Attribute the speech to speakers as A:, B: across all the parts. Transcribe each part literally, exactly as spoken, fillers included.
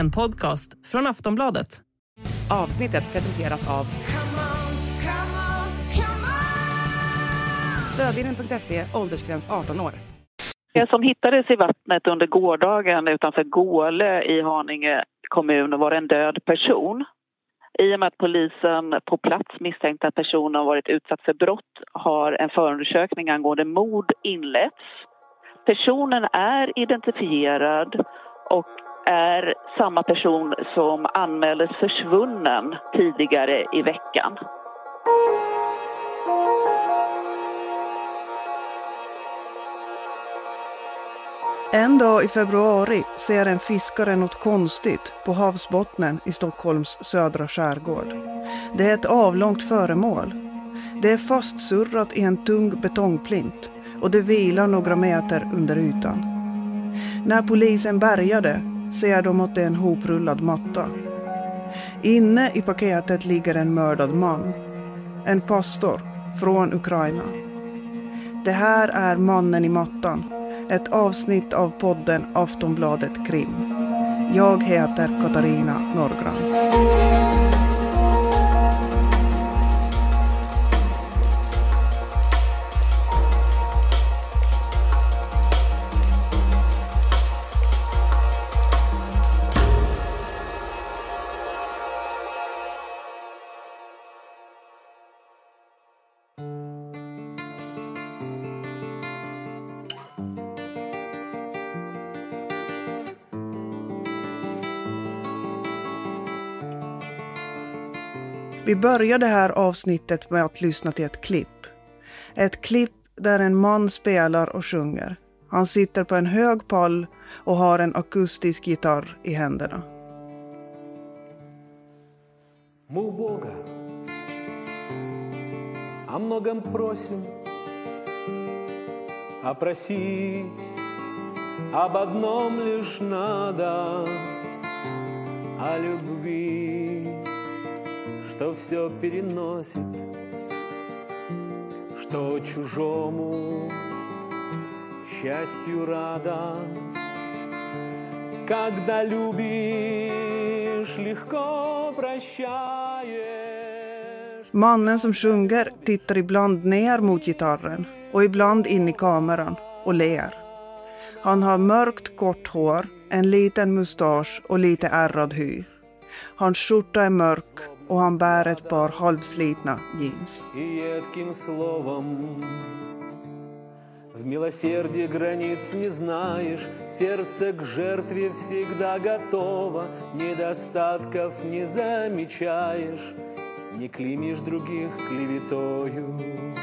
A: En podcast från Aftonbladet.
B: Avsnittet presenteras av Stödlinjen punkt se, åldersgräns arton år.
C: Det som hittades i vattnet under gårdagen utanför Gåle i Haninge kommun var en död person. I och med att polisen på plats misstänkte att personen har varit utsatt för brott har en förundersökning angående mord inletts. Personen är identifierad och är samma person som anmäldes försvunnen tidigare i veckan.
D: En dag i februari ser en fiskare något konstigt på havsbottnen i Stockholms södra skärgård. Det är ett avlångt föremål. Det är fastsurrat i en tung betongplint och det vilar några meter under ytan. När polisen bärgade ser de att det är en hoprullad matta. Inne i paketet ligger en mördad man. En pastor från Ukraina. Det här är Mannen i mattan. Ett avsnitt av podden Aftonbladet Krim. Jag heter Katarina Norgran. Vi börjar det här avsnittet med att lyssna till ett klipp. Ett klipp där en man spelar och sjunger. Han sitter på en hög pall och har en akustisk gitarr i händerna.
E: Мы у Бога о многом просим, а просить об одном лишь надо, о любви, что все переносит, что чужому счастью рада. Когда любишь, легко прощаешь.
D: Mannen som sjunger tittar ibland ner mot gitarren och ibland in i kameran och ler. Han har mörkt kort hår, en liten mustasch och lite ärrad hy. Hans skjorta är mörk och han bär ett par halvslitna jeans.
E: И едким словом в милосердии границ не знаешь, сердце к жертве всегда готово, недостатков не замечаешь, не клеймишь других клеветою.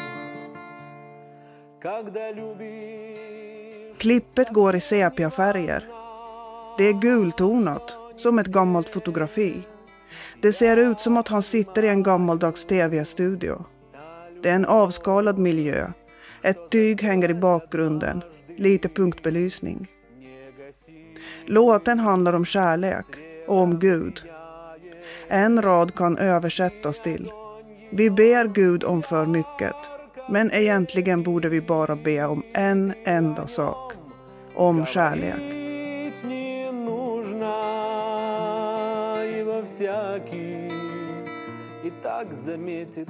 E: Когда любишь...
D: Klippet går i sepia-färger. Det är gultonat, som ett gammalt fotografi. Det ser ut som att han sitter i en gammaldags tv-studio. Det är en avskalad miljö. Ett tyg hänger i bakgrunden. Lite punktbelysning. Låten handlar om kärlek och om Gud. En rad kan översättas till: vi ber Gud om för mycket, men egentligen borde vi bara be om en enda sak. Om kärlek.
E: Всякий и так заметит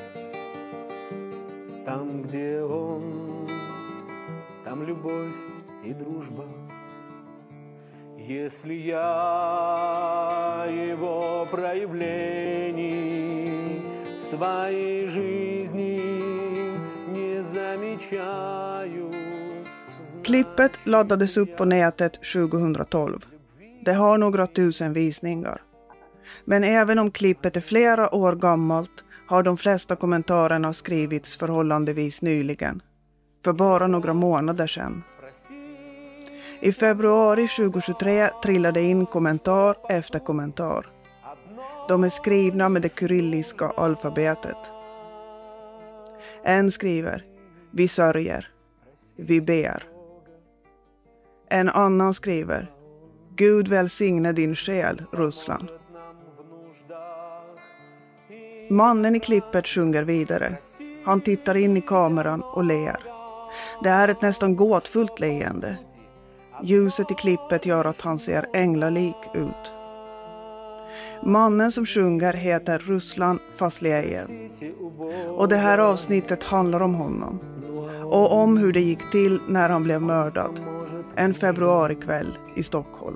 E: там, где он, там любовь и дружба. Если я его проявлений в своей жизни не замечаю.
D: Klippet laddades upp på nätet tjugohundratolv. Det har några tusen visningar. Men även om klippet är flera år gammalt har de flesta kommentarerna skrivits förhållandevis nyligen. För bara några månader sedan. I februari tjugohundratjugotre trillade in kommentar efter kommentar. De är skrivna med det kyrilliska alfabetet. En skriver: vi sörjer. Vi ber. En annan skriver: Gud välsigne din själ, Ryssland. Mannen i klippet sjunger vidare. Han tittar in i kameran och ler. Det är ett nästan gåtfullt leende. Ljuset i klippet gör att han ser änglalik ut. Mannen som sjunger heter Ruslan Fasliejev. Och det här avsnittet handlar om honom. Och om hur det gick till när han blev mördad. En februarikväll i Stockholm.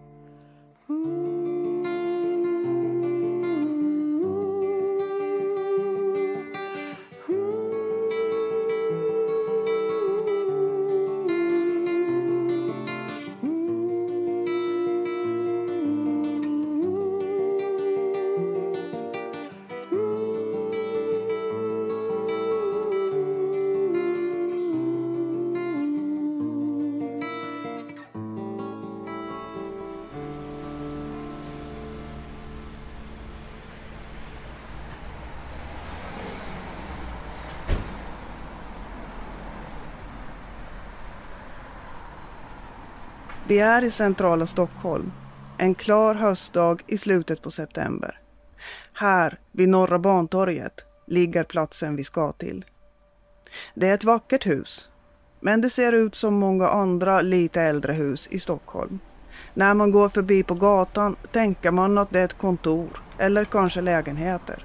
D: Vi är i centrala Stockholm, en klar höstdag i slutet på september. Här, vid Norra Bantorget, ligger platsen vi ska till. Det är ett vackert hus, men det ser ut som många andra lite äldre hus i Stockholm. När man går förbi på gatan tänker man att det är ett kontor eller kanske lägenheter.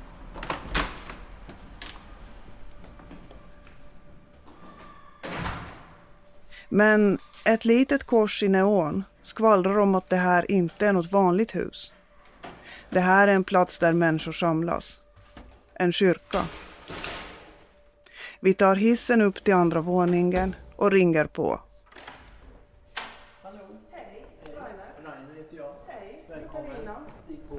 D: Men ett litet kors i neon skvallrar om att det här inte är något vanligt hus. Det här är en plats där människor samlas. En kyrka. Vi tar hissen upp till andra våningen och ringer på.
F: Hallå. Hej, Rainer. Rainer heter jag. Hej, välkommen. Stig på.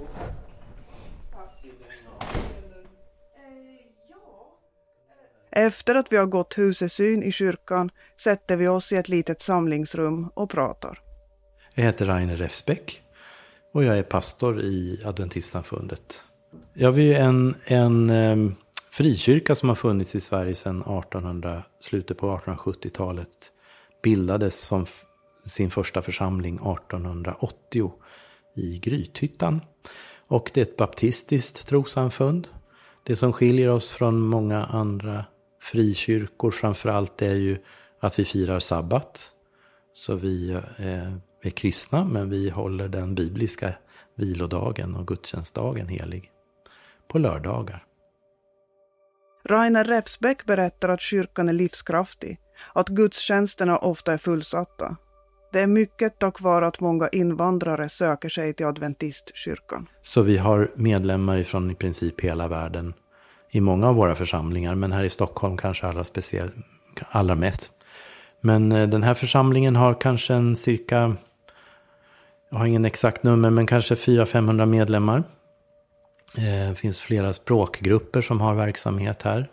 D: Efter att vi har gått husesyn i kyrkan sätter vi oss i ett litet samlingsrum och pratar.
G: Jag heter Rainer Refsbäck och jag är pastor i Adventistsamfundet. Jag är en, en eh, frikyrka som har funnits i Sverige sedan artonhundra, slutet på artonhundrasjuttiotalet. Bildades som f- sin första församling artonhundraåttio i Grythyttan. Och det är ett baptistiskt trossamfund. Det som skiljer oss från många andra frikyrkor framförallt är ju att vi firar sabbat. Så vi eh, är kristna, men vi håller den bibliska vilodagen och gudstjänstdagen helig på lördagar.
D: Rainer Refsbäck berättar att kyrkan är livskraftig, att gudstjänsterna ofta är fullsatta. Det är mycket tack vare att många invandrare söker sig till adventistkyrkan.
G: Så vi har medlemmar ifrån i princip hela världen i många av våra församlingar, men här i Stockholm kanske allra, speciell, allra mest. Men den här församlingen har kanske en cirka, jag har ingen exakt nummer, men kanske fyra till femhundra medlemmar. Det finns flera språkgrupper som har verksamhet här.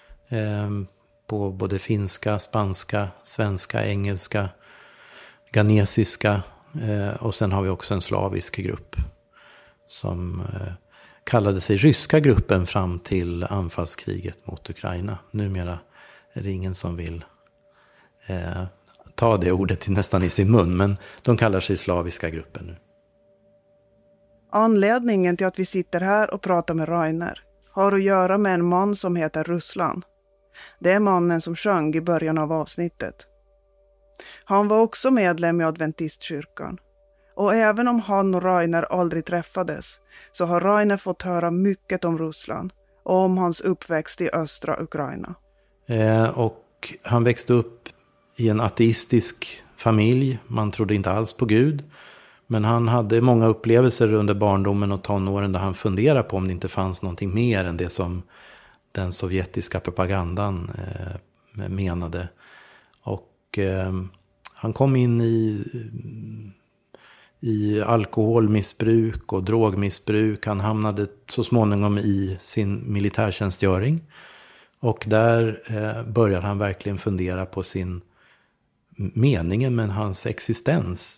G: På både finska, spanska, svenska, engelska, ghanesiska. Och sen har vi också en slavisk grupp som kallade sig ryska gruppen fram till anfallskriget mot Ukraina. Numera är det ingen som vill eh, ta det ordet nästan i sin mun, men de kallar sig slaviska gruppen nu.
D: Anledningen till att vi sitter här och pratar med Rainer har att göra med en man som heter Ruslan. Det är mannen som sjöng i början av avsnittet. Han var också medlem i Adventistkyrkan. Och även om han och Rainer aldrig träffades så har Rainer fått höra mycket om Ruslan och om hans uppväxt i östra Ukraina.
G: Eh, och han växte upp i en ateistisk familj. Man trodde inte alls på Gud. Men han hade många upplevelser under barndomen och tonåren där han funderade på om det inte fanns någonting mer än det som den sovjetiska propagandan eh, menade. Och eh, han kom in i... i alkoholmissbruk och drogmissbruk. Han hamnade så småningom i sin militärtjänstgöring. Och där eh, började han verkligen fundera på sin meningen med hans existens.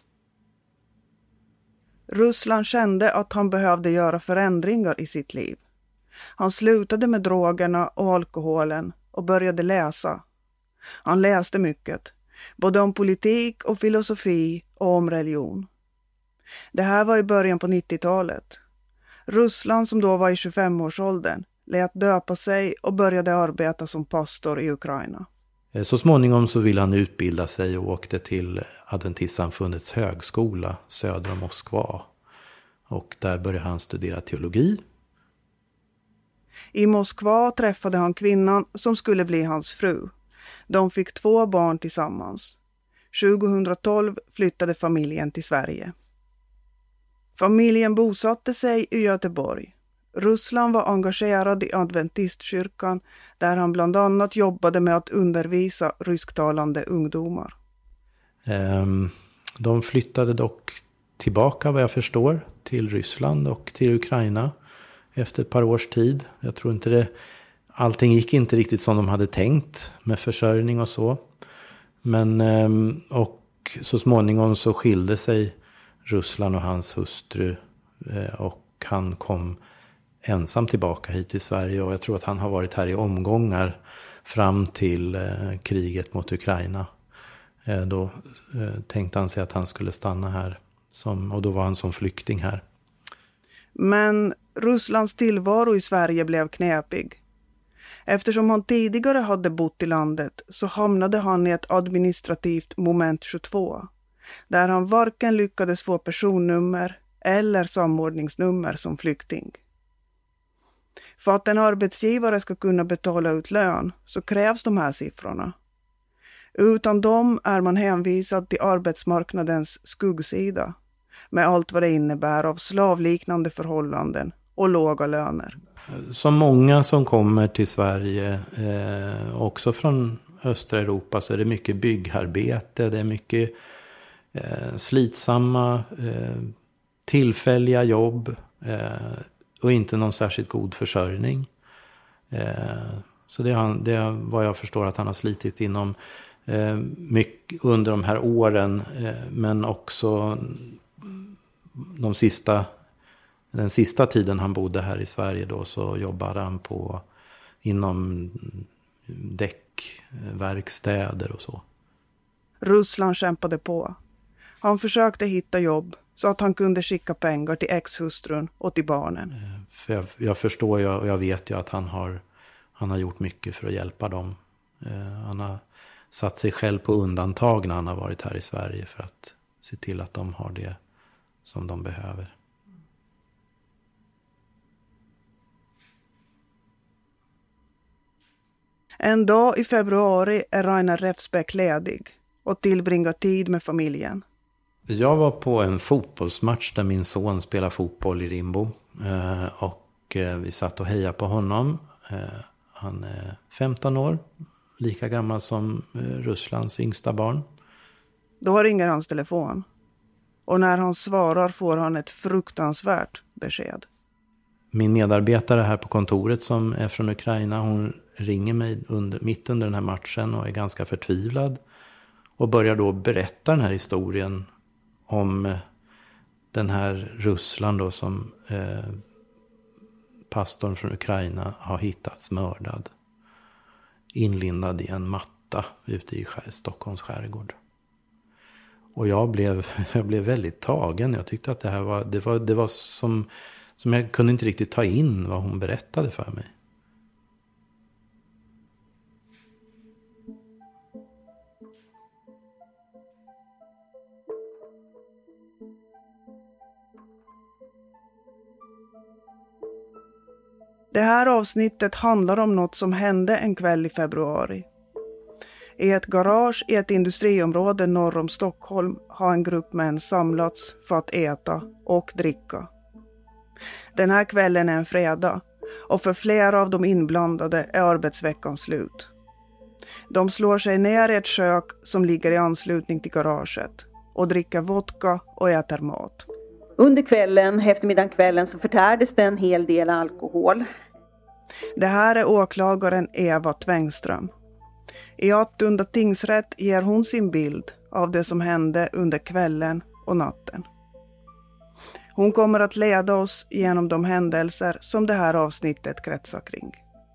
D: Ruslan kände att han behövde göra förändringar i sitt liv. Han slutade med drogerna och alkoholen och började läsa. Han läste mycket, både om politik och filosofi och om religion. Det här var i början på nittiotalet. Ruslan, som då var i tjugofemårsåldern, lät döpa sig och började arbeta som pastor i Ukraina.
G: Så småningom så ville han utbilda sig och åkte till Adventistsamfundets högskola söder om Moskva. Och där började han studera teologi.
D: I Moskva träffade han kvinnan som skulle bli hans fru. De fick två barn tillsammans. tjugohundratolv flyttade familjen till Sverige. Familjen bosatte sig i Göteborg. Ruslan var engagerad i adventistkyrkan där han bland annat jobbade med att undervisa rysktalande ungdomar.
G: De flyttade dock tillbaka, vad jag förstår, till Ryssland och till Ukraina efter ett par års tid. Jag tror inte det, allting gick inte riktigt som de hade tänkt med försörjning och så. Men, och så småningom så skilde sig Ruslan och hans hustru och han kom ensam tillbaka hit till Sverige. Och jag tror att han har varit här i omgångar fram till kriget mot Ukraina. Då tänkte han sig att han skulle stanna här som, och då var han som flykting här.
D: Men Russlands tillvaro i Sverige blev knepig. Eftersom han tidigare hade bott i landet så hamnade han i ett administrativt moment tjugotvå. Där han varken lyckades få personnummer eller samordningsnummer som flykting. För att en arbetsgivare ska kunna betala ut lön så krävs de här siffrorna. Utan dem är man hänvisad till arbetsmarknadens skuggsida med allt vad det innebär av slavliknande förhållanden och låga löner.
G: Som många som kommer till Sverige, eh, också från östra Europa, så är det mycket byggarbete, det är mycket eh, slitsamma, eh, tillfälliga jobb eh, och inte någon särskilt god försörjning. Eh, så det är, det är vad jag förstår att han har slitit inom eh, mycket under de här åren, eh, men också de sista Den sista tiden han bodde här i Sverige då så jobbade han på inom däckverkstäder och så.
D: Ruslan kämpade på. Han försökte hitta jobb så att han kunde skicka pengar till ex-hustrun och till barnen.
G: För jag, jag förstår ju och jag vet ju att han har, han har gjort mycket för att hjälpa dem. Han har satt sig själv på undantag när han har varit här i Sverige för att se till att de har det som de behöver.
D: En dag i februari är Rainer Refsbeck ledig och tillbringar tid med familjen.
G: Jag var på en fotbollsmatch där min son spelar fotboll i Rimbo. Och vi satt och hejade på honom. Han är femton år, lika gammal som Rysslands yngsta barn.
D: Då ringer hans telefon. Och när han svarar får han ett fruktansvärt besked.
G: Min medarbetare här på kontoret som är från Ukraina, hon ringer mig under, mitt under den här matchen och är ganska förtvivlad. Och börjar då berätta den här historien om den här Ruslan då som eh, pastorn från Ukraina har hittats mördad. Inlindad i en matta ute i skär, Stockholms skärgård. Och jag blev, jag blev väldigt tagen. Jag tyckte att det här var, det var, det var som... Som jag kunde inte riktigt ta in vad hon berättade för mig.
D: Det här avsnittet handlar om något som hände en kväll i februari. I ett garage i ett industriområde norr om Stockholm har en grupp män samlats för att äta och dricka. Den här kvällen är en fredag och för flera av de inblandade är arbetsveckan slut. De slår sig ner i ett kök som ligger i anslutning till garaget och dricker vodka och äter mat.
H: Under kvällen, eftermiddagen kvällen, så förtärdes det en hel del alkohol.
D: Det här är åklagaren Eva Tvängström. I Attunda tingsrätt ger hon sin bild av det som hände under kvällen och natten. Hon kommer att leda oss genom de händelser som det här avsnittet kretsar kring.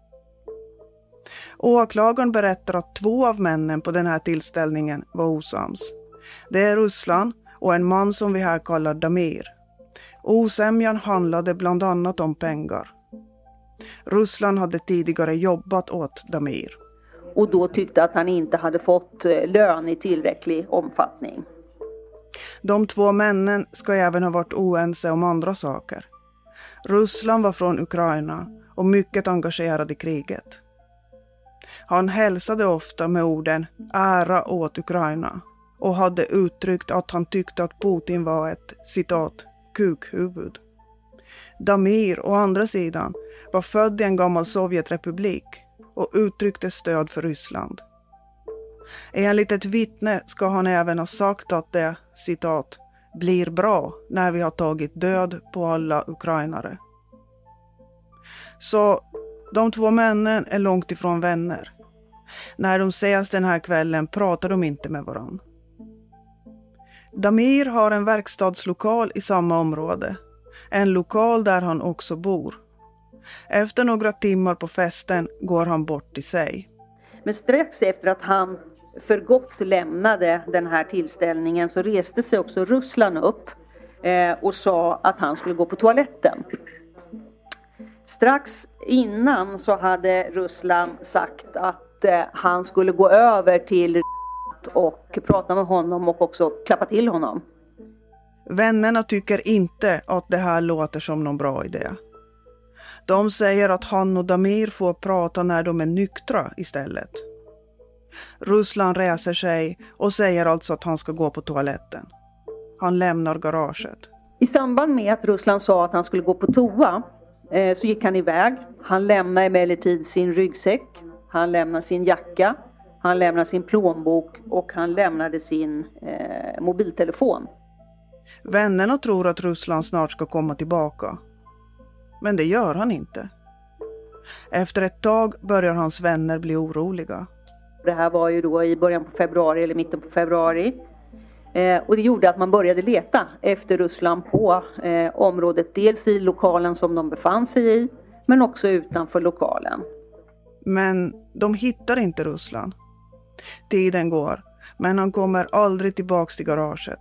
D: Åklagaren berättar att två av männen på den här tillställningen var osams. Det är Ruslan och en man som vi här kallar Damir. Osämjan handlade bland annat om pengar. Ruslan hade tidigare jobbat åt Damir.
H: Och då tyckte att han inte hade fått lön i tillräcklig omfattning.
D: De två männen ska även ha varit oense om andra saker. Ryssland var från Ukraina och mycket engagerad i kriget. Han hälsade ofta med orden ära åt Ukraina och hade uttryckt att han tyckte att Putin var ett, citat, kukhuvud. Damir å andra sidan var född i en gammal Sovjetrepublik och uttryckte stöd för Ryssland. Enligt ett vittne ska han även ha sagt att det, citat, blir bra när vi har tagit död på alla ukrainare. Så de två männen är långt ifrån vänner. När de ses den här kvällen pratar de inte med varann. Damir har en verkstadslokal i samma område. En lokal där han också bor. Efter några timmar på festen går han bort i sig.
H: Men strax efter att han för gott lämnade den här tillställningen så reste sig också Ryssland upp eh, och sa att han skulle gå på toaletten. Strax innan så hade Ryssland sagt att eh, han skulle gå över till och prata med honom och också klappa till honom.
D: Vännerna tycker inte att det här låter som någon bra idé. De säger att han och Damir får prata när de är nyktra istället. Ryssland reser sig och säger alltså att han ska gå på toaletten. Han lämnar garaget.
H: I samband med att Ryssland sa att han skulle gå på toa eh, så gick han iväg. Han lämnade emellertid sin ryggsäck. Han lämnade sin jacka. Han lämnade sin plånbok och han lämnade sin eh, mobiltelefon.
D: Vännerna tror att Ryssland snart ska komma tillbaka. Men det gör han inte. Efter ett tag börjar hans vänner bli oroliga.
H: Det här var ju då i början på februari eller mitten på februari. Eh, och det gjorde att man började leta efter Ryssland på eh, området. Dels i lokalen som de befann sig i, men också utanför lokalen.
D: Men de hittar inte Ryssland. Tiden går, men han kommer aldrig tillbaka till garaget.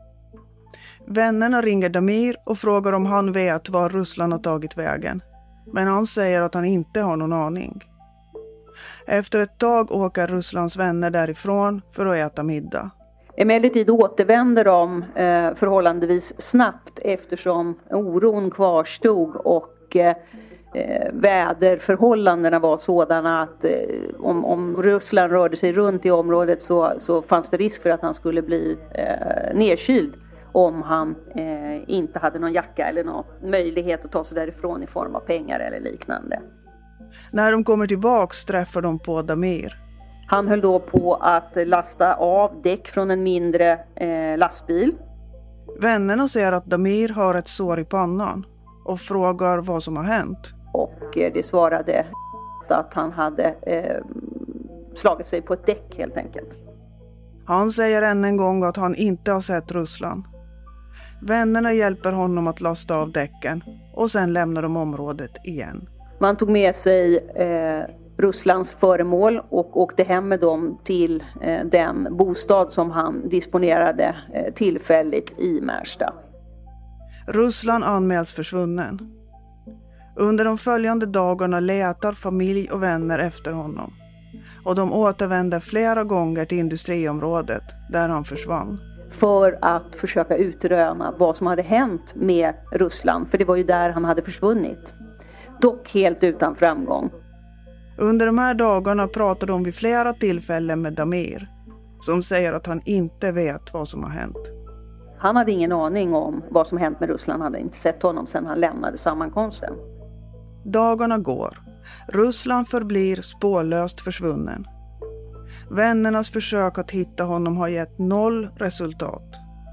D: Vännerna ringer Damir och frågar om han vet var Ryssland har tagit vägen. Men han säger att han inte har någon aning. Efter ett tag åker Rysslands vänner därifrån för att äta middag.
H: Emellertid återvänder de eh, förhållandevis snabbt eftersom oron kvarstod och eh, väderförhållandena var sådana att eh, om, om Ryssland rörde sig runt i området så, så fanns det risk för att han skulle bli eh, nedkyld om han eh, inte hade någon jacka eller någon möjlighet att ta sig därifrån i form av pengar eller liknande.
D: När de kommer tillbaks träffar de på Damir.
H: Han höll då på att lasta av däck från en mindre eh, lastbil.
D: Vännerna ser att Damir har ett sår i pannan och frågar vad som har hänt.
H: Och eh, det svarade att han hade eh, slagit sig på ett däck helt enkelt.
D: Han säger än en gång att han inte har sett Ryssland. Vännerna hjälper honom att lasta av däcken och sen lämnar de området igen.
H: Man tog med sig eh, Rysslands föremål och åkte hem med dem till eh, den bostad som han disponerade eh, tillfälligt i Märsta.
D: Ryssland anmäls försvunnen. Under de följande dagarna letar familj och vänner efter honom. Och de återvänder flera gånger till industriområdet där han försvann.
H: För att försöka utröna vad som hade hänt med Ryssland. För det var ju där han hade försvunnit. Dock helt utan framgång.
D: Under de här dagarna pratar de vid flera tillfällen med Damir. Som säger att han inte vet vad som har hänt.
H: Han hade ingen aning om vad som hänt med Ryssland. Han hade inte sett honom sedan han lämnade sammankomsten.
D: Dagarna går. Ryssland förblir spårlöst försvunnen. Vännernas försök att hitta honom har gett noll resultat.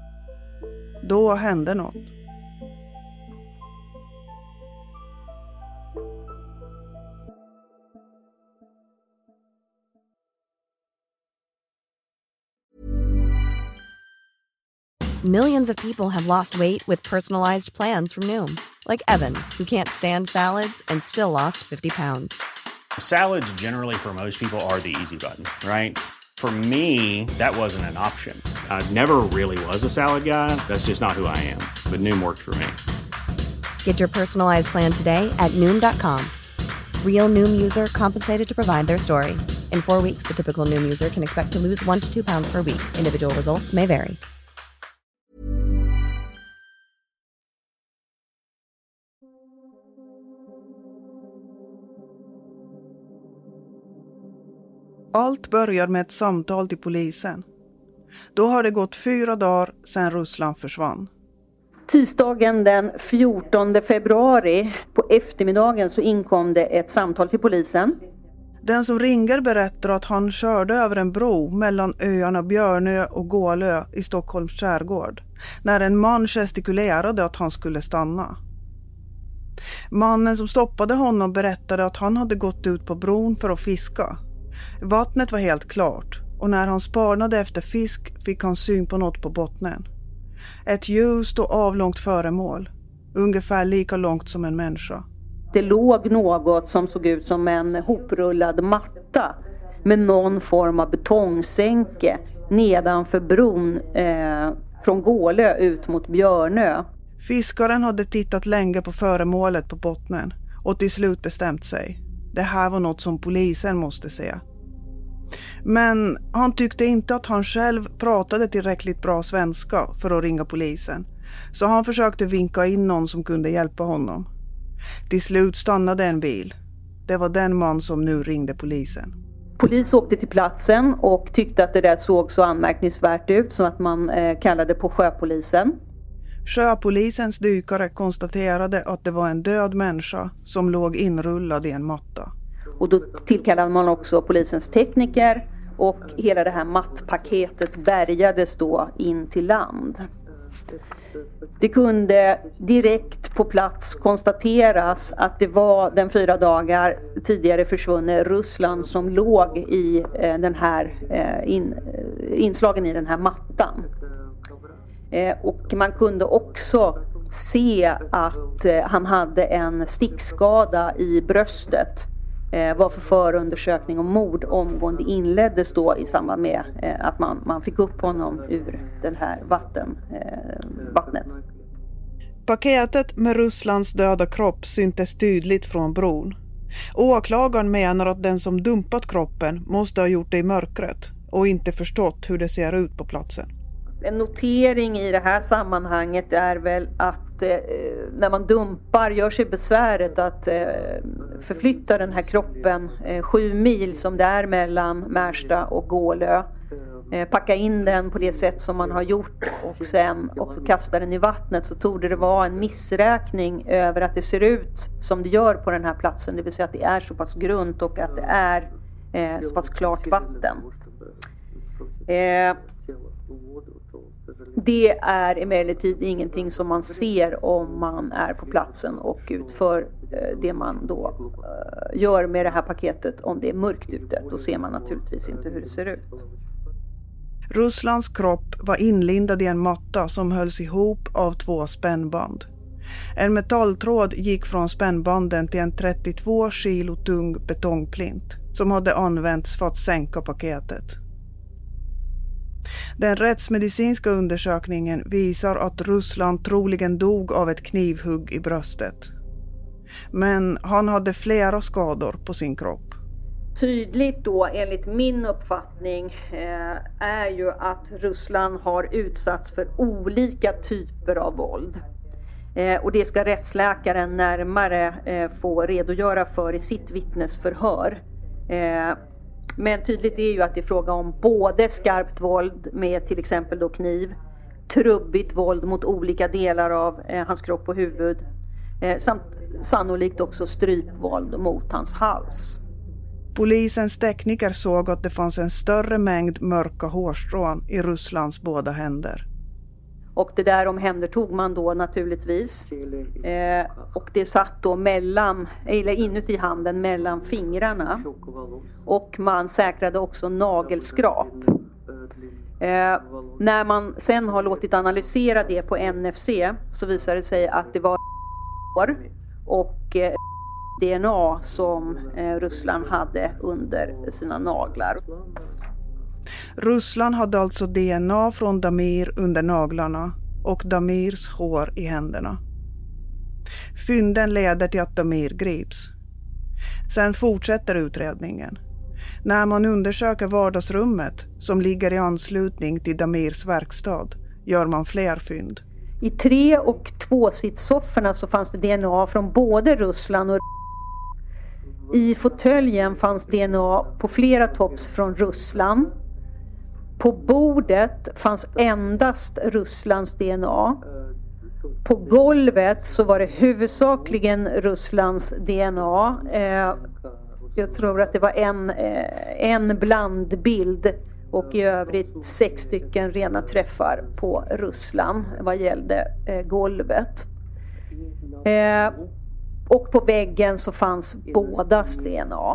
D: Då hände något.
I: Millions of people have lost weight with personalized plans from Noom. Like Evan, who can't stand salads and still lost fifty pounds.
J: Salads generally for most people are the easy button, right? For me, that wasn't an option. I never really was a salad guy. That's just not who I am. But Noom worked for me.
I: Get your personalized plan today at Noom dot com. Real Noom user compensated to provide their story. In four weeks, the typical Noom user can expect to lose one to two pounds per week. Individual results may vary.
D: Allt börjar med ett samtal till polisen. Då har det gått fyra dagar sedan Ruslan försvann.
H: Tisdagen den fjortonde februari på eftermiddagen så inkom det ett samtal till polisen.
D: Den som ringer berättar att han körde över en bro mellan öarna Björnö och Gålö i Stockholms skärgård när en man gestikulerade att han skulle stanna. Mannen som stoppade honom berättade att han hade gått ut på bron för att fiska. Vattnet var helt klart och när han spanade efter fisk fick han syn på något på bottnen. Ett ljust och avlångt föremål, ungefär lika långt som en människa.
H: Det låg något som såg ut som en hoprullad matta med någon form av betongsänke nedanför bron eh, från Gålö ut mot Björnö.
D: Fiskaren hade tittat länge på föremålet på bottnen och till slut bestämt sig. Det här var något som polisen måste se. Men han tyckte inte att han själv pratade tillräckligt bra svenska för att ringa polisen. Så han försökte vinka in någon som kunde hjälpa honom. Till slut stannade en bil. Det var den man som nu ringde polisen.
H: Polis åkte till platsen och tyckte att det där såg så anmärkningsvärt ut så att man eh, kallade på sjöpolisen.
D: Sjöpolisens dykare konstaterade att det var en död människa som låg inrullad i en matta.
H: Och då tillkallade man också polisens tekniker och hela det här mattpaketet bärgades då in till land. Det kunde direkt på plats konstateras att det var den fyra dagar tidigare försvunne Ruslan som låg i eh, den här eh, in, inslagen i den här mattan. Eh, och man kunde också se att eh, han hade en stickskada i bröstet. Eh, varför förundersökning om mord omgående inleddes då i samband med eh, att man, man fick upp honom ur den här vatten, eh, vattnet.
D: Paketet med Ruslans döda kropp syntes tydligt från bron. Åklagaren menar att den som dumpat kroppen måste ha gjort det i mörkret och inte förstått hur det ser ut på platsen.
H: En notering i det här sammanhanget är väl att eh, när man dumpar gör sig besväret att eh, förflytta den här kroppen eh, sju mil som det är mellan Märsta och Gålö. Eh, packa in den på det sätt som man har gjort och sen också kasta den i vattnet, så torde det vara en missräkning över att det ser ut som det gör på den här platsen. Det vill säga att det är så pass grunt och att det är eh, så pass klart vatten. Eh, Det är emellertid ingenting som man ser om man är på platsen och utför det man då gör med det här paketet. Om det är mörkt ute, då ser man naturligtvis inte hur det ser ut.
D: Ruslans kropp var inlindad i en matta som hölls ihop av två spännband. En metalltråd gick från spännbanden till en trettiotvå kilo tung betongplint som hade använts för att sänka paketet. Den rättsmedicinska undersökningen visar att Ruslan troligen dog av ett knivhugg i bröstet. Men han hade flera skador på sin kropp.
H: Tydligt då enligt min uppfattning eh, är ju att Ruslan har utsatts för olika typer av våld. Eh, och det ska rättsläkaren närmare eh, få redogöra för i sitt vittnesförhör. Eh, Men tydligt är ju att det är fråga om både skarpt våld med till exempel då kniv, trubbigt våld mot olika delar av eh, hans kropp och huvud, eh, samt sannolikt också strypvåld mot hans hals.
D: Polisens tekniker såg att det fanns en större mängd mörka hårstrån i Ruslans båda händer.
H: Och det där omhändertog man då naturligtvis. Eh, och det satt då mellan, eller inuti handen mellan fingrarna. Och man säkrade också nagelskrap. Eh, när man sen har låtit analysera det på N F C så visar det sig att det var hår och eh, D N A som eh, Ruslan hade under sina naglar.
D: Ruslan hade alltså D N A från Damir under naglarna och Damirs hår i händerna. Fynden leder till att Damir grips. Sen fortsätter utredningen. När man undersöker vardagsrummet som ligger i anslutning till Damirs verkstad gör man fler fynd.
H: I tre- och tvåsitssofforna så fanns det D N A från både Ruslan och I fåtöljen fanns D N A på flera tops från Ryssland. På bordet fanns endast Rysslands D N A. På golvet så var det huvudsakligen Rysslands D N A. Eh, jag tror att det var en, eh, en blandbild och i övrigt sex stycken rena träffar på Ryssland vad gällde eh, golvet. Eh, och på väggen så fanns bådas D N A.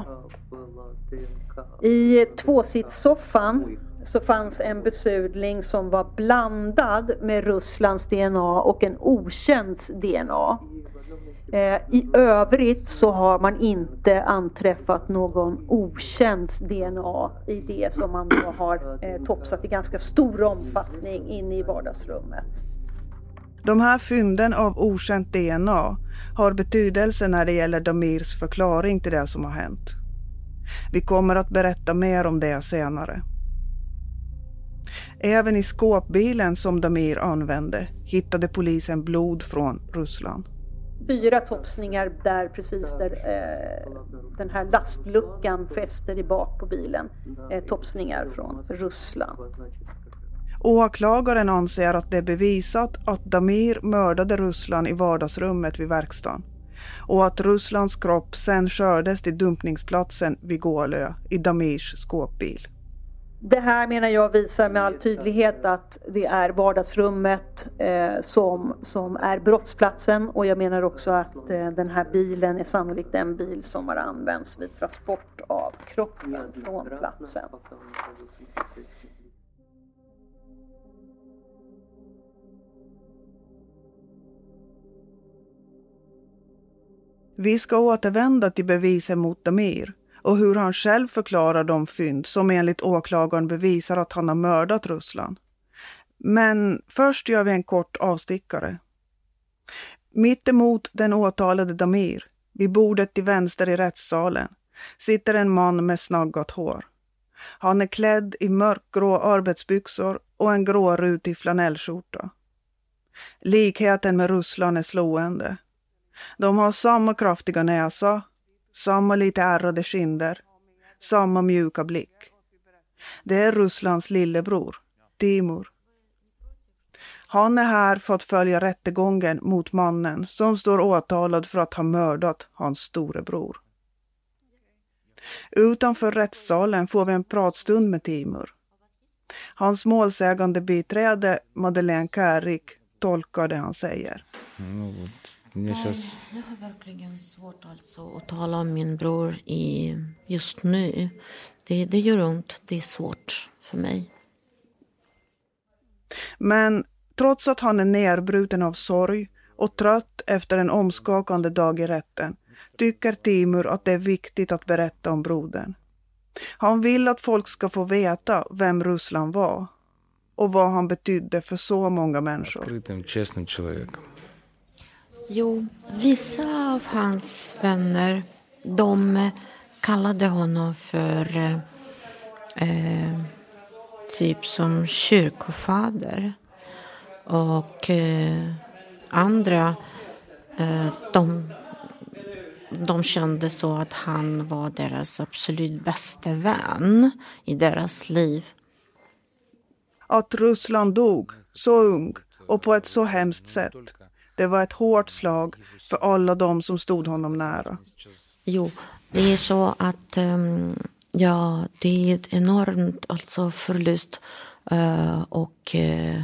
H: I tvåsitssoffan så fanns en besudling som var blandad med Rysslands D N A och en okänds D N A. Eh, I övrigt så har man inte anträffat någon okänds D N A i det som man då har eh, topsat i ganska stor omfattning inne i vardagsrummet.
D: De här fynden av okänt D N A har betydelse när det gäller Damirs förklaring till det som har hänt. Vi kommer att berätta mer om det senare. Även i skåpbilen som Damir använde hittade polisen blod från Ryssland.
H: Fyra topsningar där precis där eh, den här lastluckan fäster i bak på bilen. Eh, topsningar från Ryssland.
D: Åklagaren anser att det är bevisat att Damir mördade Ryssland i vardagsrummet vid verkstaden. Och att Rysslands kropp sen kördes till dumpningsplatsen vid Gålö i Damirs skåpbil.
H: Det här menar jag visar med all tydlighet att det är vardagsrummet eh, som, som är brottsplatsen. Och jag menar också att eh, den här bilen är sannolikt den bil som har använts vid transport av kroppen från platsen.
D: Vi ska återvända till bevisen mot Damir och hur han själv förklarar de fynd som enligt åklagaren bevisar att han har mördat Ryssland. Men först gör vi en kort avstickare. Mitt emot den åtalade Damir, vid bordet till vänster i rättssalen, sitter en man med snaggat hår. Han är klädd i mörkgrå arbetsbyxor och en grå rutig flanellskjorta. Likheten med Ryssland är slående. De har samma kraftiga näsa, samma lite ärrade kinder, samma mjuka blick. Det är Rysslands lillebror, Timur. Han är här för att följa rättegången mot mannen som står åtalad för att ha mördat hans storebror. Utanför rättssalen får vi en pratstund med Timur. Hans målsägande biträde Madeleine Kärrik tolkar det han säger.
K: Mm. Jag har verkligen svårt alltså att tala om min bror i just nu. Det, det gör ont, det är svårt för mig.
D: Men trots att han är nerbruten av sorg och trött efter en omskakande dag i rätten tycker Timur att det är viktigt att berätta om brodern. Han vill att folk ska få veta vem Ryssland var och vad han betydde för så många människor.
K: Jo, vissa av hans vänner, de kallade honom för eh, typ som kyrkofader. Och eh, andra, eh, de, de kände så att han var deras absolut bästa vän i deras liv.
D: Att Ryssland dog så ung och på ett så hemskt sätt. Det var ett hårt slag för alla de som stod honom nära.
K: Jo, det är så att um, ja, det är ett enormt alltså förlust uh, och uh,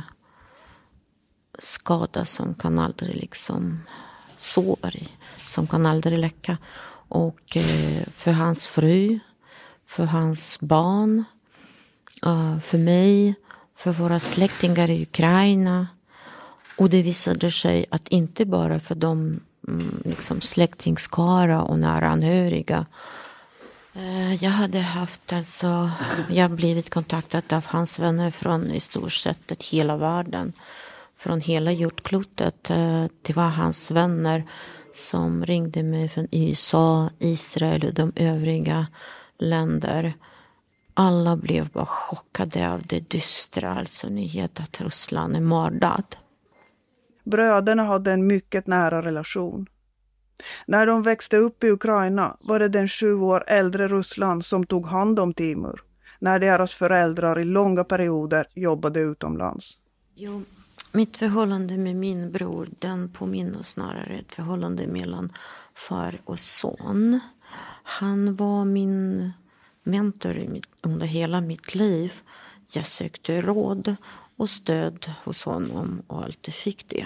K: skada som kan aldrig liksom sår som kan aldrig läcka. Och uh, för hans fru, för hans barn, uh, för mig, för våra släktingar i Ukraina. Och det visade sig att inte bara för de liksom, släktingskara och nära anhöriga. Jag hade haft alltså, jag blivit kontaktad av hans vänner från i stort sett hela världen. Från hela jordklotet. Det var hans vänner som ringde mig från U S A, Israel och de övriga länder. Alla blev bara chockade av det dystra, alltså nyhet att Ryssland är mördad.
D: Bröderna hade en mycket nära relation. När de växte upp i Ukraina var det den sju år äldre Ruslan som tog hand om Timur, när deras föräldrar i långa perioder jobbade utomlands.
K: Jo, mitt förhållande med min bror, den påminner snarare ett förhållande mellan far och son. Han var min mentor i mitt, under hela mitt liv. Jag sökte råd och stöd hos honom och alltid fick det.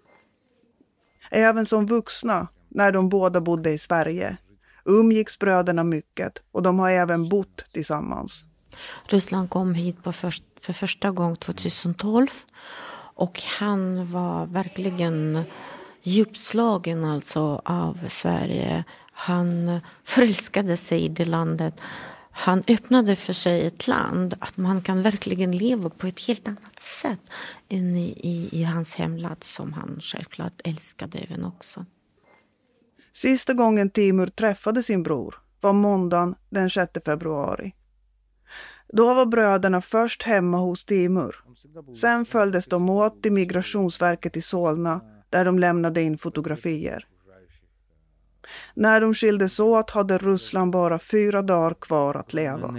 D: Även som vuxna, när de båda bodde i Sverige, umgicks bröderna mycket och de har även bott tillsammans.
K: Ruslan kom hit på för, för första gången tjugohundratolv och han var verkligen djupslagen alltså av Sverige. Han förälskade sig i det landet. Han öppnade för sig ett land att man kan verkligen leva på ett helt annat sätt än i, i, i hans hemland som han självklart älskade även också.
D: Sista gången Timur träffade sin bror var måndagen den sjätte februari. Då var bröderna först hemma hos Timur. Sen följdes de åt till Migrationsverket i Solna där de lämnade in fotografier. När de skildes åt hade Ruslan bara fyra dagar kvar att leva.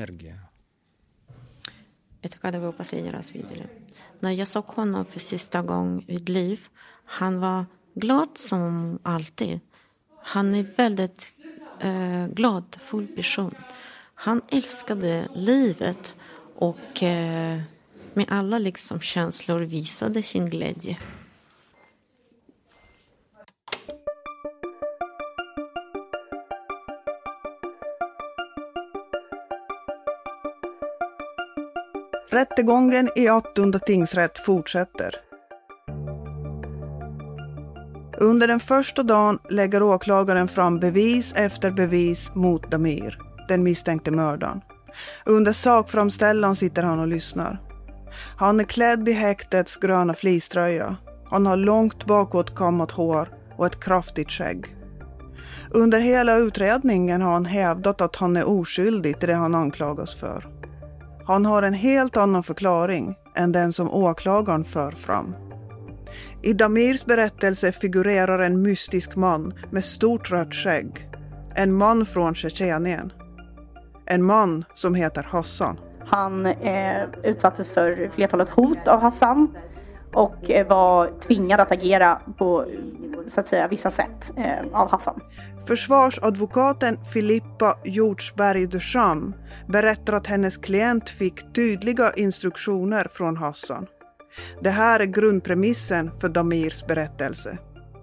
K: När jag såg honom för sista gången i liv, han var glad som alltid. Han är väldigt eh, glad, full person. Han älskade livet och eh, med alla liksom känslor visade sin glädje.
D: Rättegången i Attunda tingsrätt fortsätter. Under den första dagen lägger åklagaren fram bevis efter bevis mot Damir, den misstänkte mördaren. Under sakframställan sitter han och lyssnar. Han är klädd i häktets gröna fleecetröja. Han har långt bakåt kammat hår och ett kraftigt skägg. Under hela utredningen har han hävdat att han är oskyldig till det han anklagas för. Han har en helt annan förklaring än den som åklagaren för fram. I Damirs berättelse figurerar en mystisk man med stort rött skägg. En man från Tjetjenien. En man som heter Hassan.
L: Han eh, utsattes för flertalet hot av Hassan och eh, var tvingad att agera på så att säga vissa sätt eh, av Hassan.
D: Försvarsadvokaten Filippa Hjortsberg Ducham berättar att hennes klient fick tydliga instruktioner från Hassan. Det här är grundpremissen för Damirs berättelse.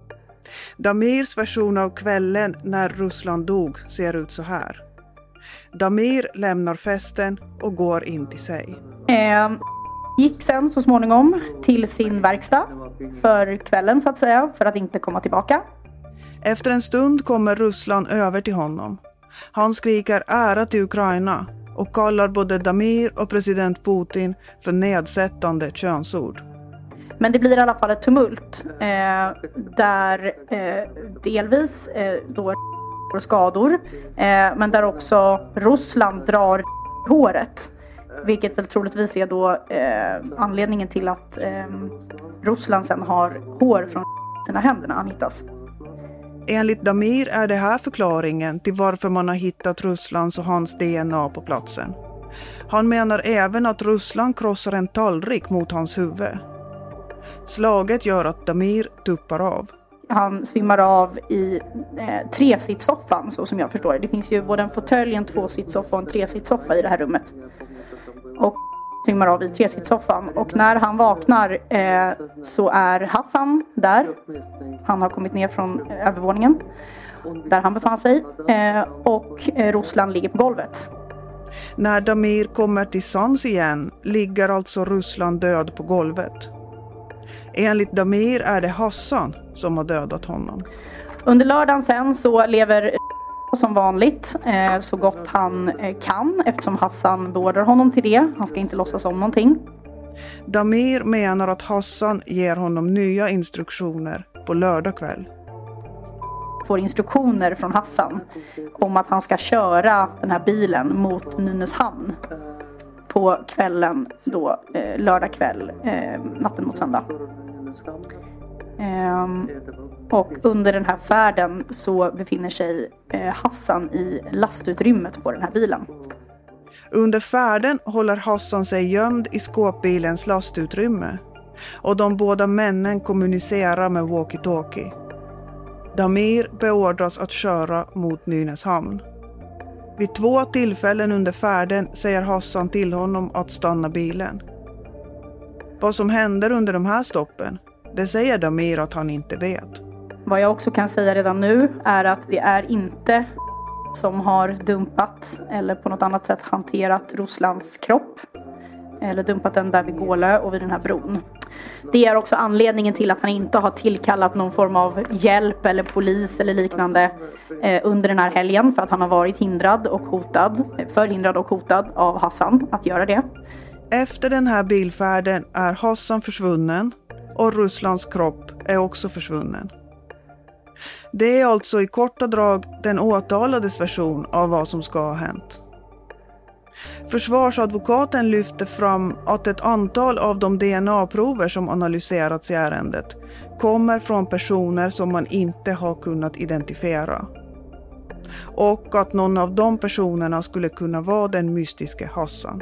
D: Damirs version av kvällen när Ruslan dog ser ut så här. Damir lämnar festen och går in till sig.
L: Eh, gick sen så småningom till sin verkstad för kvällen så att säga, för att inte komma tillbaka.
D: Efter en stund kommer Ruslan över till honom. Han skriker ära till Ukraina och kallar både Damir och president Putin för nedsättande könsord.
L: Men det blir i alla fall ett tumult eh, där eh, delvis eh, då skador eh, men där också Ruslan drar håret, vilket väl troligtvis är då eh, anledningen till att eh, Ruslan sen har hår från sina händer när han hittas.
D: Enligt Damir är det här förklaringen till varför man har hittat Ruslans och hans D N A på platsen. Han menar även att Ruslan krossar en tallrik mot hans huvud. Slaget gör att Damir tuppar av.
L: Han svimmar av i eh, tresittsoffan, så som jag förstår det. Det finns ju både en fåtölj, en tvåsittsoffa och en tresittsoffa i det här rummet. Och svimmar av i tresittsoffan. Och när han vaknar eh, så är Hassan där. Han har kommit ner från eh, övervåningen där han befann sig. Eh, och eh, Ruslan ligger på golvet.
D: När Damir kommer till sans igen ligger alltså Ruslan död på golvet. Enligt Damir är det Hassan som har dödat honom.
L: Under lördagen sen så lever som vanligt eh, så gott han eh, kan, eftersom Hassan beordrar honom till det. Han ska inte låtsas om någonting.
D: Damir menar att Hassan ger honom nya instruktioner på lördag kväll.
L: Får instruktioner från Hassan om att han ska köra den här bilen mot Nynäshamn på kvällen då, eh, lördag kväll, eh, natten mot söndag. Ehm, och under den här färden så befinner sig eh, Hassan i lastutrymmet på den här bilen.
D: Under färden håller Hassan sig gömd i skåpbilens lastutrymme och de båda männen kommunicerar med walkie-talkie. Damir beordras att köra mot Nynäshamn. Vid två tillfällen under färden säger Hassan till honom att stanna bilen. Vad som händer under de här stoppen, det säger Damir att han inte vet.
L: Vad jag också kan säga redan nu är att det är inte som har dumpat eller på något annat sätt hanterat Ruslans kropp. Eller dumpat den där vid Gålö och vid den här bron. Det är också anledningen till att han inte har tillkallat någon form av hjälp eller polis eller liknande eh, under den här helgen. För att han har varit hindrad och hotad, förhindrad och hotad av Hassan att göra det.
D: Efter den här bilfärden är Hassan försvunnen och Ruslans kropp är också försvunnen. Det är alltså i korta drag den åtalades version av vad som ska ha hänt. Försvarsadvokaten lyfter fram att ett antal av de D N A-prover som analyserats i ärendet kommer från personer som man inte har kunnat identifiera. Och att någon av de personerna skulle kunna vara den mystiske Hassan.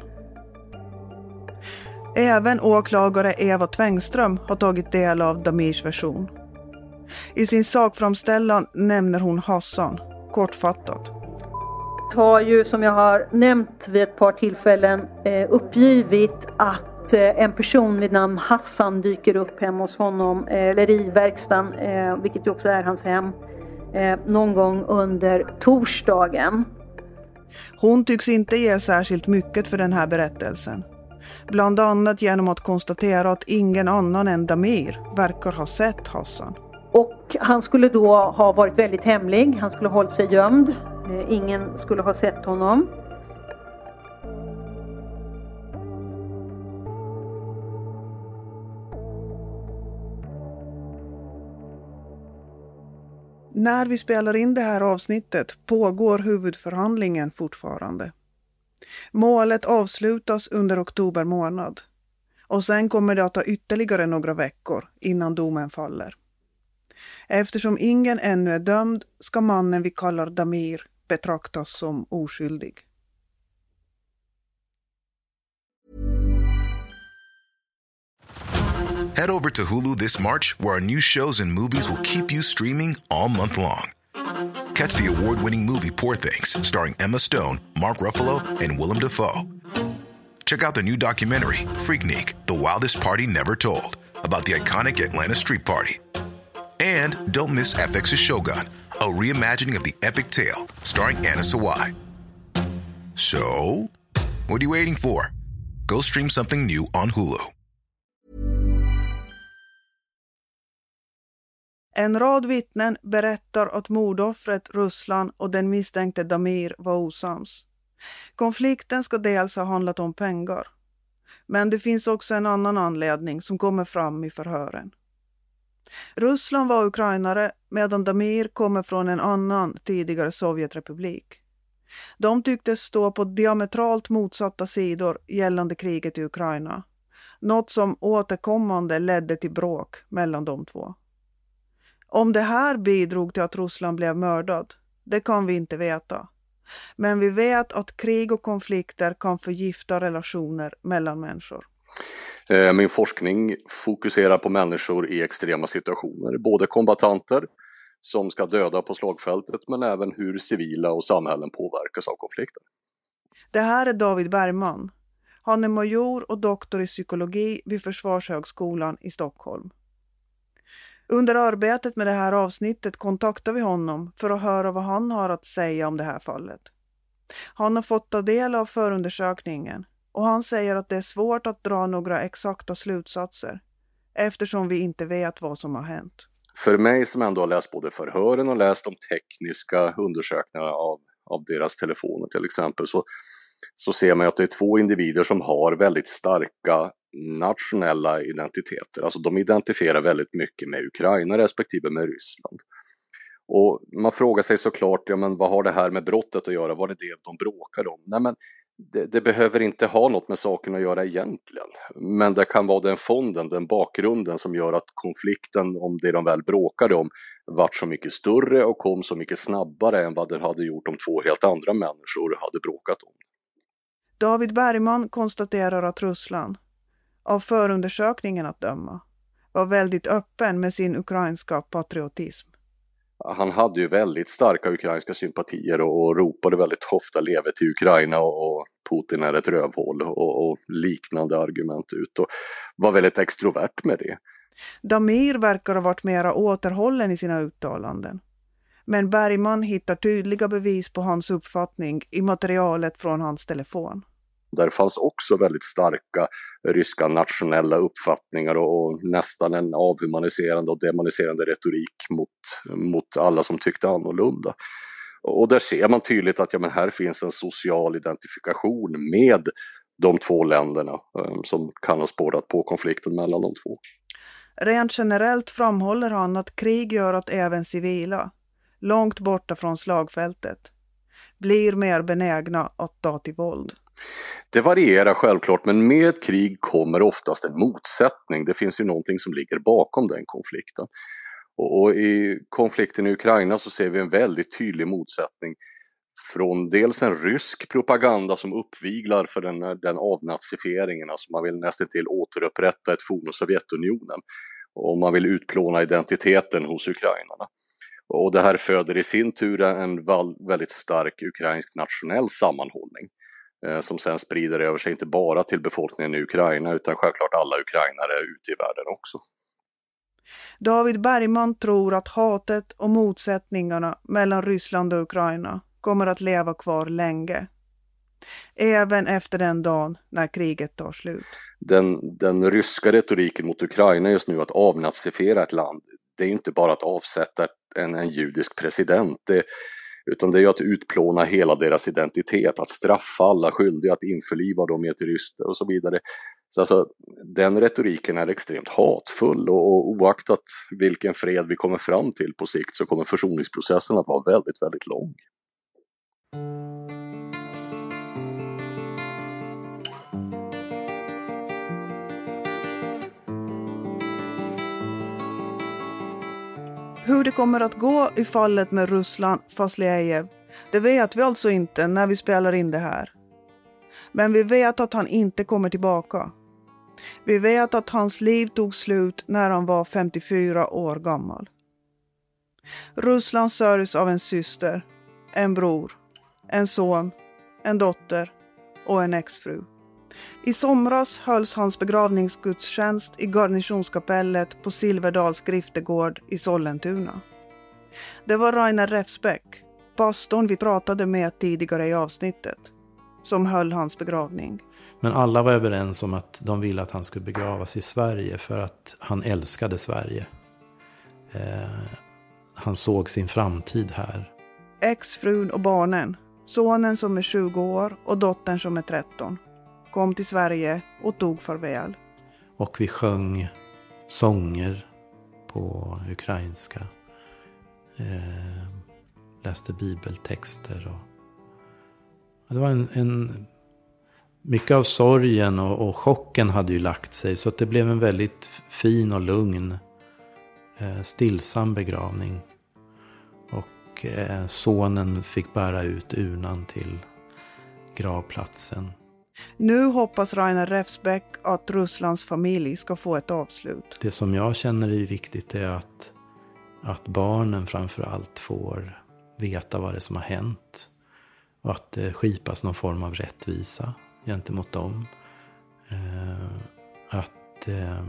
D: Även åklagare Eva Tvängström har tagit del av Damirs version. I sin sakframställan nämner hon Hassan, kortfattat.
H: Har ju, som jag har nämnt vid ett par tillfällen, eh, uppgivit att eh, en person vid namn Hassan dyker upp hemma hos honom, eh, eller i verkstaden, eh, vilket ju också är hans hem, eh, någon gång under torsdagen.
D: Hon tycks inte ge särskilt mycket för den här berättelsen. Bland annat genom att konstatera att ingen annan än Damir verkar ha sett Hassan.
H: Och han skulle då ha varit väldigt hemlig, han skulle ha hållit sig gömd. Ingen skulle ha sett honom.
D: När vi spelar in det här avsnittet pågår huvudförhandlingen fortfarande. Målet avslutas under oktober månad. Och sen kommer det att ta ytterligare några veckor innan domen faller. Eftersom ingen ännu är dömd ska mannen vi kallar Damir betraktas som oskyldig.
M: Head over to Hulu this March, where our new shows and movies will keep you streaming all month long. Catch the award-winning movie Poor Things, starring Emma Stone, Mark Ruffalo, and Willem Dafoe. Check out the new documentary, Freaknik, The Wildest Party Never Told, about the iconic Atlanta Street Party. And don't miss F X's Shogun, a reimagining of the epic tale starring Anna Sawai. So, what are you waiting for? Go stream something new on Hulu.
D: En rad vittnen berättar att mordoffret Ruslan och den misstänkte Damir var osams. Konflikten ska dels ha handlat om pengar. Men det finns också en annan anledning som kommer fram i förhören. Ruslan var ukrainare medan Damir kommer från en annan tidigare Sovjetrepublik. De tycktes stå på diametralt motsatta sidor gällande kriget i Ukraina. Något som återkommande ledde till bråk mellan de två. Om det här bidrog till att Ruslan blev mördad, det kan vi inte veta. Men vi vet att krig och konflikter kan förgifta relationer mellan människor.
N: Min forskning fokuserar på människor i extrema situationer, både kombatanter som ska döda på slagfältet men även hur civila och samhällen påverkas av konflikten.
D: Det här är David Bergman. Han är major och doktor i psykologi vid Försvarshögskolan i Stockholm. Under arbetet med det här avsnittet kontaktar vi honom för att höra vad han har att säga om det här fallet. Han har fått ta del av förundersökningen och han säger att det är svårt att dra några exakta slutsatser eftersom vi inte vet vad som har hänt.
N: För mig som ändå har läst både förhören och läst de tekniska undersökningarna av, av deras telefoner till exempel så, så ser man att det är två individer som har väldigt starka nationella identiteter. Alltså de identifierar väldigt mycket med Ukraina respektive med Ryssland. Och man frågar sig såklart, ja men vad har det här med brottet att göra? Var det det de bråkar om? Nej men det, det behöver inte ha något med saken att göra egentligen. Men det kan vara den fonden, den bakgrunden som gör att konflikten om det de väl bråkade om vart så mycket större och kom så mycket snabbare än vad den hade gjort om två helt andra människor hade bråkat om.
D: David Bergman konstaterar att Ryssland, av förundersökningen att döma, var väldigt öppen med sin ukrainska patriotism.
N: Han hade ju väldigt starka ukrainska sympatier och, och ropade väldigt ofta leve till Ukraina och, och Putin är ett rövhål och, och liknande argument ut och var väldigt extrovert med det.
D: Damir verkar ha varit mera återhållen i sina uttalanden. Men Bergman hittar tydliga bevis på hans uppfattning i materialet från hans telefon.
N: Där fanns också väldigt starka ryska nationella uppfattningar och, och nästan en avhumaniserande och demoniserande retorik mot, mot alla som tyckte annorlunda. Och där ser man tydligt att ja, men här finns en social identifikation med de två länderna um, som kan ha spårat på konflikten mellan de två.
D: Rent generellt framhåller han att krig gör att även civila, långt borta från slagfältet, blir mer benägna att ta till våld.
N: Det varierar självklart, men med ett krig kommer oftast en motsättning. Det finns ju någonting som ligger bakom den konflikten. Och, och i konflikten i Ukraina så ser vi en väldigt tydlig motsättning från dels en rysk propaganda som uppviglar för den, den avnazifieringen, alltså man vill nästan till återupprätta ett forna Sovjetunionen och man vill utplåna identiteten hos ukrainarna. Och det här föder i sin tur en väldigt stark ukrainsk nationell sammanhållning eh, som sen sprider över sig inte bara till befolkningen i Ukraina utan självklart alla ukrainare ute i världen också.
D: David Bergman tror att hatet och motsättningarna mellan Ryssland och Ukraina kommer att leva kvar länge. Även efter den dagen när kriget tar slut.
N: Den, den ryska retoriken mot Ukraina just nu att avnazifiera ett land, det är inte bara att avsätta en, en judisk president, det, utan det är ju att utplåna hela deras identitet, att straffa alla skyldiga, att införliva dem i ett ryskt och så vidare. Så alltså, den retoriken är extremt hatfull och, och oaktat vilken fred vi kommer fram till på sikt så kommer försoningsprocessen att vara väldigt, väldigt lång.
D: Hur det kommer att gå i fallet med Ruslan Fasliev, det vet vi alltså inte när vi spelar in det här. Men vi vet att han inte kommer tillbaka. Vi vet att hans liv tog slut när han var femtiofyra år gammal. Ruslan sörjs av en syster, en bror, en son, en dotter och en exfru. I somras hölls hans begravningsgudstjänst i garnisonskapellet på Silverdals griftegård i Sollentuna. Det var Rainer Refsbeck, pastorn vi pratade med tidigare i avsnittet, som höll hans begravning.
G: Men alla var överens om att de ville att han skulle begravas i Sverige för att han älskade Sverige. Eh, han såg sin framtid här.
D: Exfrun och barnen, sonen som är tjugo år och dottern som är tretton, kom till Sverige och tog farväl.
G: Och vi sjöng sånger på ukrainska. Eh, läste bibeltexter. Och det var en, en... Mycket av sorgen och, och chocken hade ju lagt sig. Så att det blev en väldigt fin och lugn, eh, stillsam begravning. Och eh, sonen fick bära ut urnan till gravplatsen.
D: Nu hoppas Rainer Refsbeck att Rysslands familj ska få ett avslut.
G: Det som jag känner är viktigt är att, att barnen framförallt får veta vad det är som har hänt. Och att det skipas någon form av rättvisa gentemot dem. Eh, att, eh,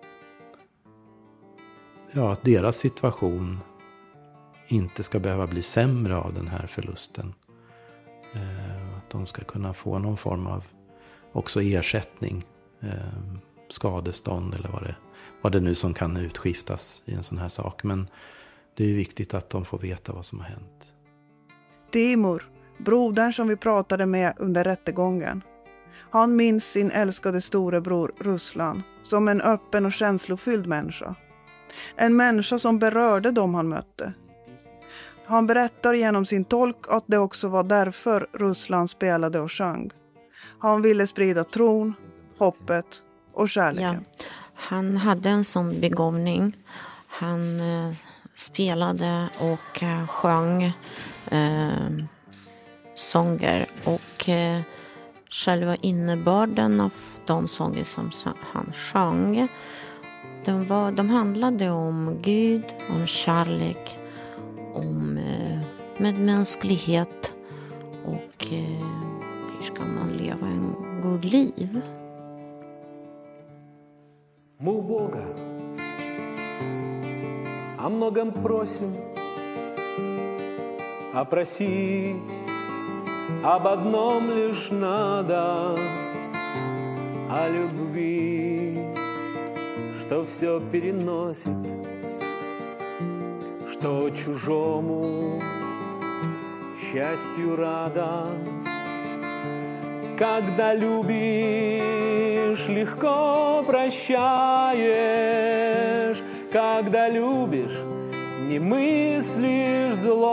G: ja, att deras situation inte ska behöva bli sämre av den här förlusten. Eh, att de ska kunna få någon form av också ersättning, eh, skadestånd eller vad det, vad det nu som kan utskiftas i en sån här sak. Men det är ju viktigt att de får veta vad som har hänt.
D: Timur, brodern som vi pratade med under rättegången. Han minns sin älskade storebror Ruslan som en öppen och känslofylld människa. En människa som berörde dem han mötte. Han berättar genom sin tolk att det också var därför Ruslan spelade och sjöng. Han ville sprida tron, hoppet och kärleken.
K: Ja, han hade en sån begåvning. Han eh, spelade och eh, sjöng eh, sånger. Och eh, själva innebörden av de sånger som han sjöng, de, var, de handlade om Gud, om kärlek, om eh, medmänsklighet och eh, hur ska man leva en god liv.
E: Мы у Бога о многом просим, а просить об одном лишь надо, о любви, что все переносит, что чужому счастью рада. Когда любишь, легко прощаешь. Когда любишь, не мыслишь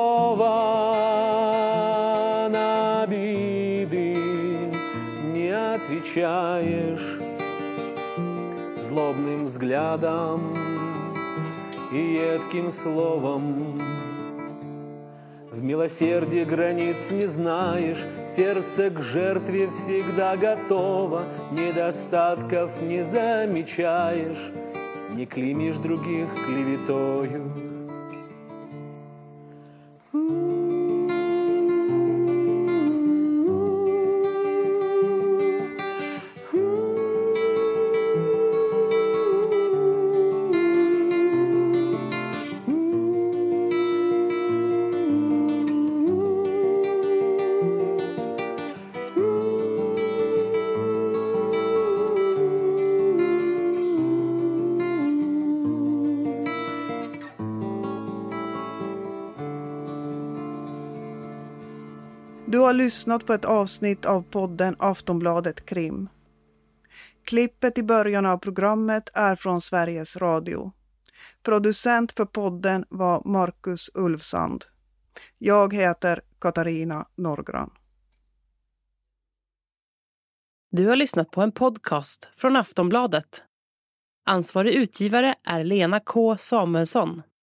E: злого, на обиды не отвечаешь злобным взглядом и едким словом. В милосердии границ не знаешь, сердце к жертве всегда готово, недостатков не замечаешь, не клеймишь других клеветою.
D: Du har lyssnat på ett avsnitt av podden Aftonbladet Krim. Klippet i början av programmet är från Sveriges Radio. Producent för podden var Marcus Ulfsand. Jag heter Katarina Norgran.
A: Du har lyssnat på en podcast från Aftonbladet. Ansvarig utgivare är Lena K. Samuelsson.